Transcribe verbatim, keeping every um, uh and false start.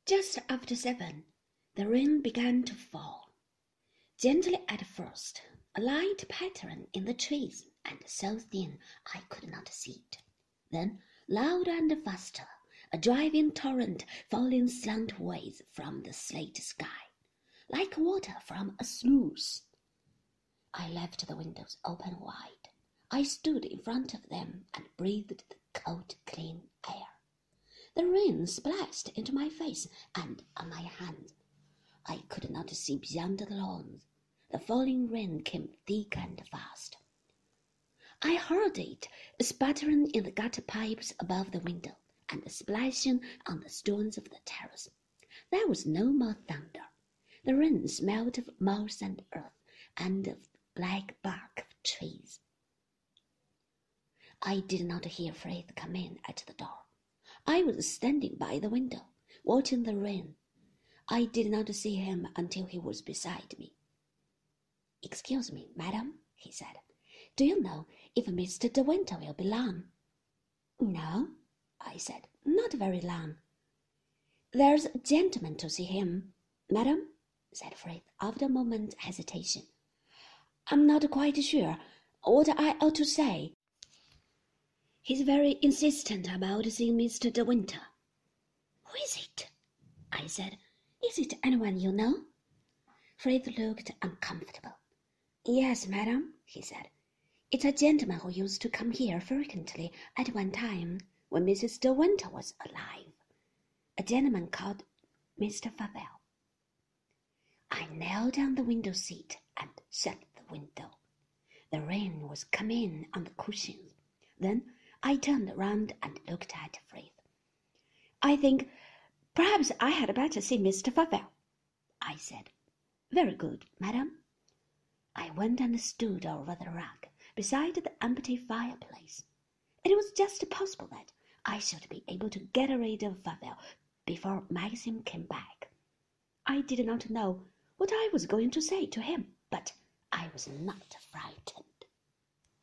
Just after seven, the rain began to fall. Gently at first, a light pattern in the trees, and so thin I could not see it. Then, louder and faster, a driving torrent falling slantways from the slate sky, like water from a sluice. I left the windows open wide. I stood in front of them and breathed the cold, clean air. The rain splashed into my face and on my hands. I could not see beyond the lawns. The falling rain came thick and fast. I heard it sputtering in the gutter pipes above the window and splashing on the stones of the terrace. There was no more thunder. The rain smelled of moss and earth and of black bark of trees. I did not hear Frith come in at the door. I was standing by the window, watching the rain. I did not see him until he was beside me. "Excuse me, madam," he said. "Do you know if Mister De Winter will be long?" "No," I said, "not very long." "There's a gentleman to see him, madam," said Frith, after a moment's hesitation. "I'm not quite sure what I ought to say. He's very insistent about seeing Mister De Winter." "Who is it?" I said. "Is it anyone you know?" Frith looked uncomfortable. "Yes, madam," he said. "It's a gentleman who used to come here frequently at one time when Missus De Winter was alive. A gentleman called Mister Favell." I knelt on the window seat and shut the window. The rain was coming on the cushions. Then I turned round and looked at Frith. "I think perhaps I had better see Mister Favell," I said. "Very good, madam." I went and stood over the rug beside the empty fireplace. It was just possible that I should be able to get rid of Favell before Maxim came back. I did not know what I was going to say to him, but I was not frightened.